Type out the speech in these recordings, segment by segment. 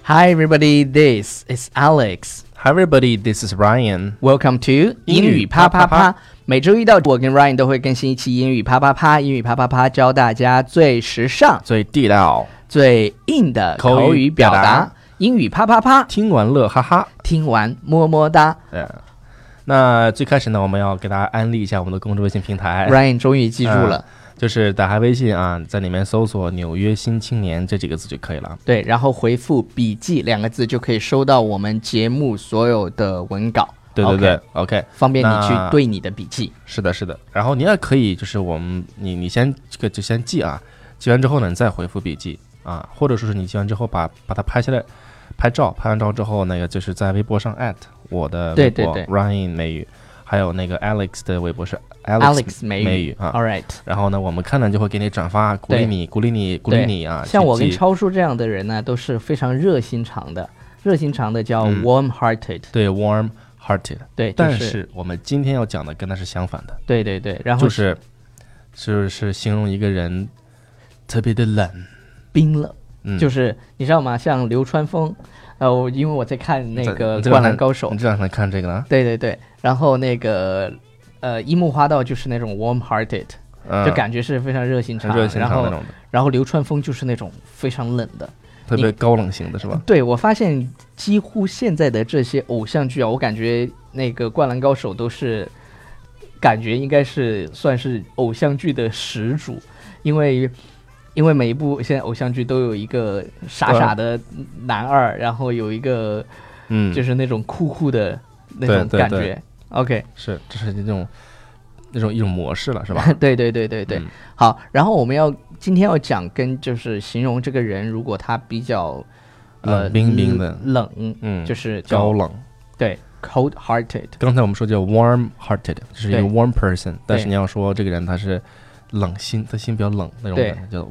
Hi everybody, this is Alex. Hi everybody, this is Ryan. Welcome to 英语啪啪啪。每周一到我跟 Ryan 都会更新一期英语啪啪啪。英语啪啪啪教大家最时尚、 最地道、 最硬的口语表达。英语啪啪啪， 听完乐哈哈， 听完么么哒。 那最开始呢，我们要给大家安利一下我们的公众微信平台。 Ryan 终于记住了。 就是打开微信啊，在里面搜索纽约新青年这几个字就可以了。 对，然后回复笔记2个字就可以收到我们节目所有的文稿。 对对对 ，OK， 方便你去对你的笔记。 是的，是的。然后你也可以，就是你先这个就先记啊，记完之后呢，你再回复笔记啊，或者说是你记完之后把它拍下来，拍完照之后，那个就是在微博上我的微博 Ryan 美语。还有那个 Alex 的微博是 Alex 美语啊 ，All right。 然后呢，我们看了就会给你转发，鼓励你啊。 像我跟超叔这样的人呢，都是非常热心肠的叫 warm-hearted。 对 ，warm-hearted。 对， 但是我们今天要讲的跟它是相反的。 对对对，然后就是形容一个人特别的冷， 冰冷。就是你知道吗？像流川枫。因为我在看那个《灌篮高手》， 你这两天看这个呢？ 对对对，然后那个樱木花道就是那种 warm-hearted，就感觉是非常热心肠那种的。然后流川枫就是那种非常冷的， 特别高冷型的是吧？ 对，我发现几乎现在的这些偶像剧啊，我感觉那个《灌篮高手》都是感觉应该是算是偶像剧的始祖，因为每一部现在偶像剧都有一个傻傻的男二，然后有一个就是那种酷酷的那种感觉。 对对 OK， 是这是一种模式了，是吧？ 对对对对对。好，然后我们今天要讲就是形容这个人，如果他比较冷冰冰的冷，就是高冷。 对 ，cold-hearted。 刚才我们说叫 warm-hearted， 就是一个 warm person， 但是你要说这个人他是冷心，他心比较冷那种感觉，叫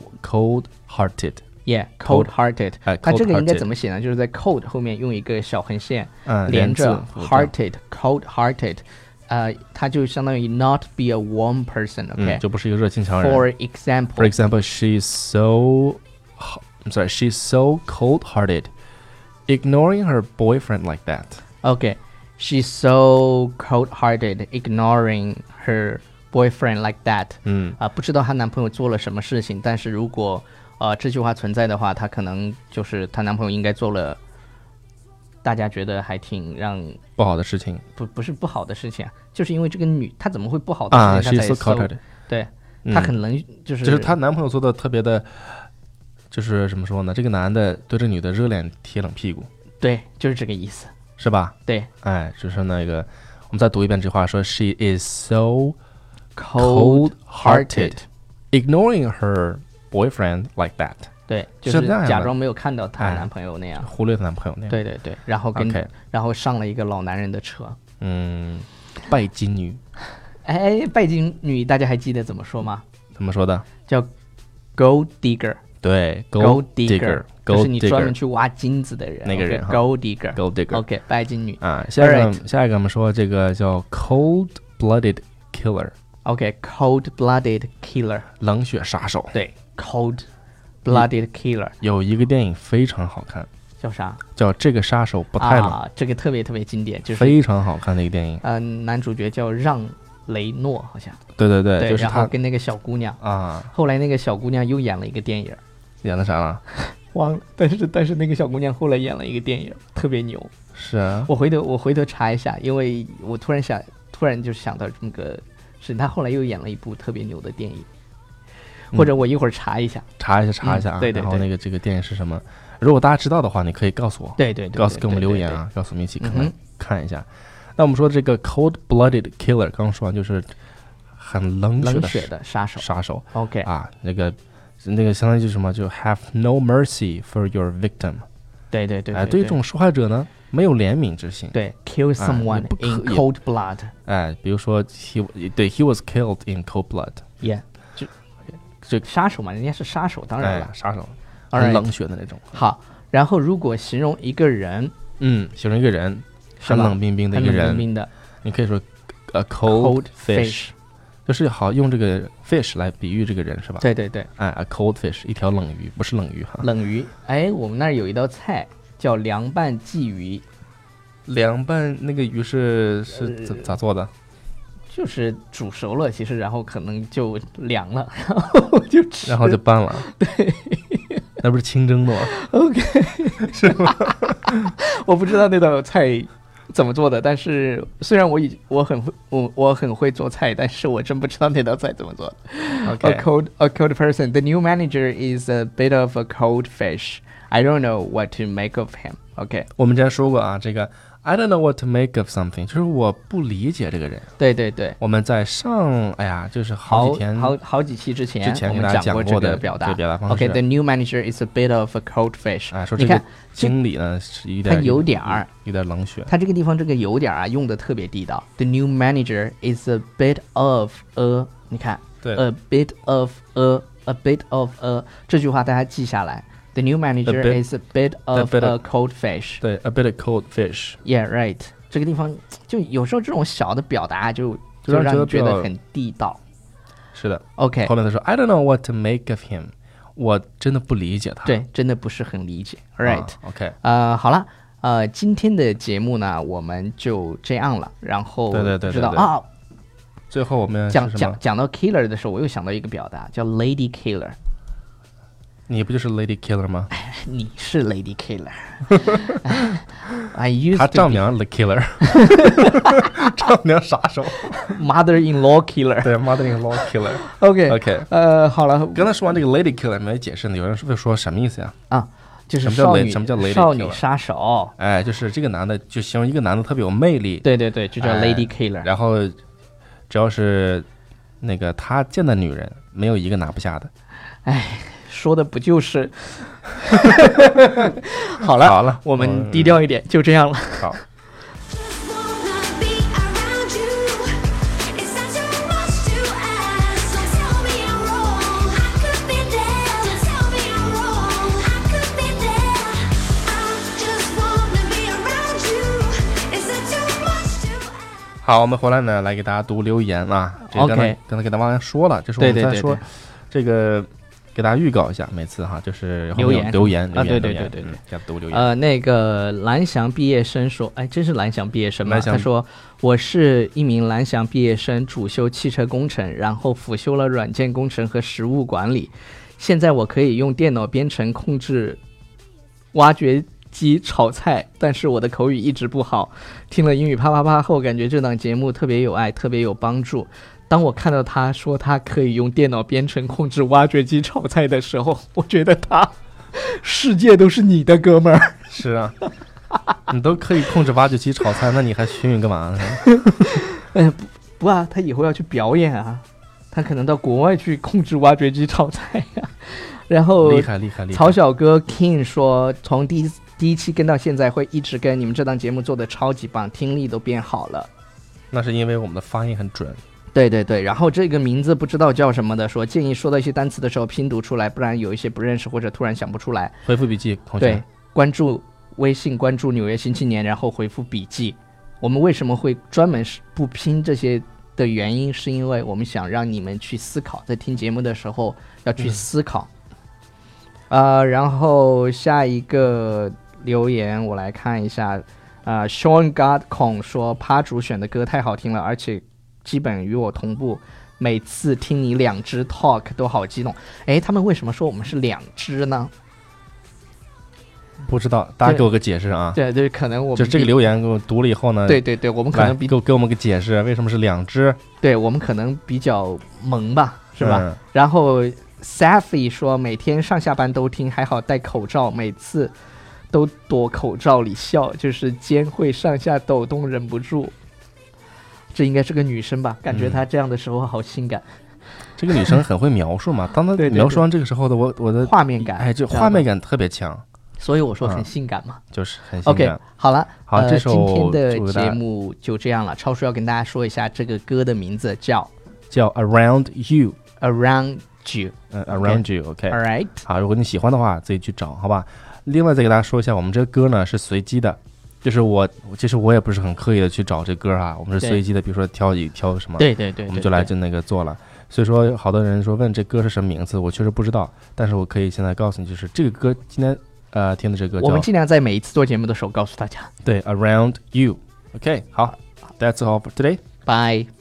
cold-hearted。Yeah，cold-hearted。它这个应该怎么写呢？就是在 cold 后面用一个小横线连着 hearted，cold-hearted。它就相当于 not be a warm person。OK， 就不是一个热心肠人。 For example, she's so cold-hearted, ignoring her boyfriend like that. OK，she's so cold-hearted, ignoring her boyfriend like that。不知道她男朋友做了什么事情，但是如果这句话存在的话，她可能就是她男朋友应该做了大家觉得还挺让不好的事情。 不是不好的事情啊，就是因为这个她怎么会不好的事情？ she's so cold-hearted。 对，她可能就是她男朋友做的特别的，就是怎么说呢？这个男的对这女的热脸贴冷屁股。 对，就是这个意思， 是吧？ 对， 就是那个，我们再读一遍这句话，说 She is so cold-hearted, ignoring her boyfriend like that。 对，就是假装没有看到她男朋友那样， 忽略她男朋友那样。 对对对，然后上了一个老男人的车。 拜金女。 拜金女，大家还记得怎么说吗？ 怎么说的？ 叫 gold digger。 对 ，gold digger， 就是你专门去挖金子的人， 那个人 ，gold digger。 OK， 拜金女。 下一个我们说这个叫 cold-blooded killer。OK，cold-blooded killer， 冷血杀手。 对 ，cold-blooded killer。 有一个电影非常好看， 叫啥？ 叫这个杀手不太冷。 这个特别特别经典，就是非常好看的一个电影。 男主角叫让雷诺，好像。 对对对，就是他，然后跟那个小姑娘后来那个小姑娘又演了一个电影。 演的啥了？ 忘了，但是那个小姑娘后来演了一个电影，特别牛。 是啊， 我回头查一下，因为我突然就想到这么个事，她后来又演了一部特别牛的电影，或者我一会儿查一下啊。 对，然后那个这个电影是什么？如果大家知道的话，你可以告诉我。 对， 给我们留言啊，告诉我们一起看一下。那我们说这个 cold-blooded killer， 刚说完就是很冷血的杀手。 OK 那个相当于就是什么？就 have no mercy for your victim。 对，对这种受害者呢，没有怜悯之心。 对 ，kill someone in cold blood。 比如说 he was killed in cold blood。Yeah， 就杀手嘛，人家是杀手，当然了， 杀手，很冷血的那种。 好，然后如果形容一个人， 形容一个人很冷冰冰的一个人，你可以说 a cold fish。就是好用这个 fish 来比喻这个人，是吧？ 对对对。 a cold fish， 一条冷鱼，不是冷鱼哈。 冷鱼，我们那儿有一道菜叫凉拌鲫鱼。 凉拌那个鱼是咋做的？ 就是煮熟了，其实然后可能就凉了，然后就吃， 然后就拌了。 对， 那不是清蒸的吗 OK， 是吗？ 我不知道那道菜怎么做的，但是虽然我很会做菜，但是我真不知道那道菜怎么做的。 Okay. A cold person. The new manager is a bit of a cold fish. I don't know what to make of him. OK， 我们之前说过啊，这个 I don't know what to make of something， 就是我不理解这个人。 对对对， 我们在就是好几期之前我给们讲过这个表达方式。 OK， the new manager is a bit of a cold fish。 说这个经理呢是有点冷血。 他这个地方这个有点用的特别地道。The new manager is a bit of a， 你看， 对 ，a bit of a， 这句话大家记下来。The new manager is a bit of a cold fish。 对 ，a bit of cold fish。 Yeah, right。这个地方就有时候这种小的表达就让你觉得很地道。 是的 ，OK。 后来他说 I don't know what to make of him， 我真的不理解他。 对，真的不是很理解。Right，OK。 好了，今天的节目呢，我们就这样了。然后对， 知道啊， 最后我们讲到 killer 的时候，我又想到一个表达叫 lady killer。 你不就是 Lady Killer 吗？ 你是 Lady Killer 。他丈娘 The Killer， 丈娘杀手。 Mother-in-law Killer。 对 ，Mother-in-law Killer。 OK， 好了， 刚才说完这个 Lady Killer 没解释呢，有人会说什么意思呀？ 就是什么叫 Lady Killer？ 少女杀手。 就是这个男的，就形容一个男的特别有魅力。 对，就叫 Lady Killer。 然后只要是那个他见的女人，没有一个拿不下的。 说的不就是好了，我们低调一点，就这样了。 好。好，我们回来呢，来给大家读留言啊。 OK， 刚才给大家说了，就是我们在说这个。给大家预告一下，每次就是留言啊， 对， 要读留言。 那个蓝翔毕业生说，真是蓝翔毕业生吗？他说我是一名蓝翔毕业生，主修汽车工程，然后辅修了软件工程和实务管理。现在我可以用电脑编程控制挖掘机炒菜，但是我的口语一直不好。听了英语啪啪啪后，感觉这档节目特别有爱，特别有帮助。当我看到他说他可以用电脑编程控制挖掘机炒菜的时候，我觉得世界都是你的，哥们儿。 是啊，你都可以控制挖掘机炒菜，那你还学语干嘛呢？不啊，他以后要去表演啊，他可能到国外去控制挖掘机炒菜呀。然后厉害。 曹小哥 King 说，从第一期跟到现在，会一直跟你们这档节目做的超级棒，听力都变好了。 那是因为我们的发音很准。 对，然后这个名字不知道叫什么的说，建议说到一些单词的时候拼读出来，不然有一些不认识或者突然想不出来。 回复笔记，同学。 对，关注微信，关注纽约新青年，然后回复笔记。我们为什么会专门不拼这些的原因，是因为我们想让你们去思考，在听节目的时候要去思考。然后下一个留言我来看一下，Sean Godcon 说趴主选的歌太好听了，而且基本与我同步，每次听你两支 talk 都好激动。他们为什么说我们是两支呢？ 不知道，大家给我个解释啊。 对，可能我们就这个留言给我读了以后呢， 对，我们可能给我们个解释，为什么是两支？ 对，我们可能比较萌吧，是吧？然后 Safi 说每天上下班都听，还好戴口罩，每次都躲口罩里笑，就是肩会上下抖动，忍不住。这应该是个女生吧，感觉她这样的时候好性感。 这个女生很会描述嘛，当她描述完这个时候的我的画面感， 这画面感特别强， 所以我说很性感嘛， 就是很性感。 OK， 好了， 这首今天的节目就这样了。超叔要跟大家说一下这个歌的名字叫 Around You。Around You，Around You，OK，All right。 好，如果你喜欢的话，自己去找，好吧。另外再给大家说一下，我们这个歌呢是随机的。就是其实我也不是很刻意的去找这歌我们是随机的，比如说挑什么， 对， 我们就来那个做了。所以说，好多人说问这歌是什么名字，我确实不知道，但是我可以现在告诉你，就是这个歌今天听的这个叫， 我们尽量在每一次做节目的时候告诉大家。 对 Around You。OK， 好，That's all for today。 Bye。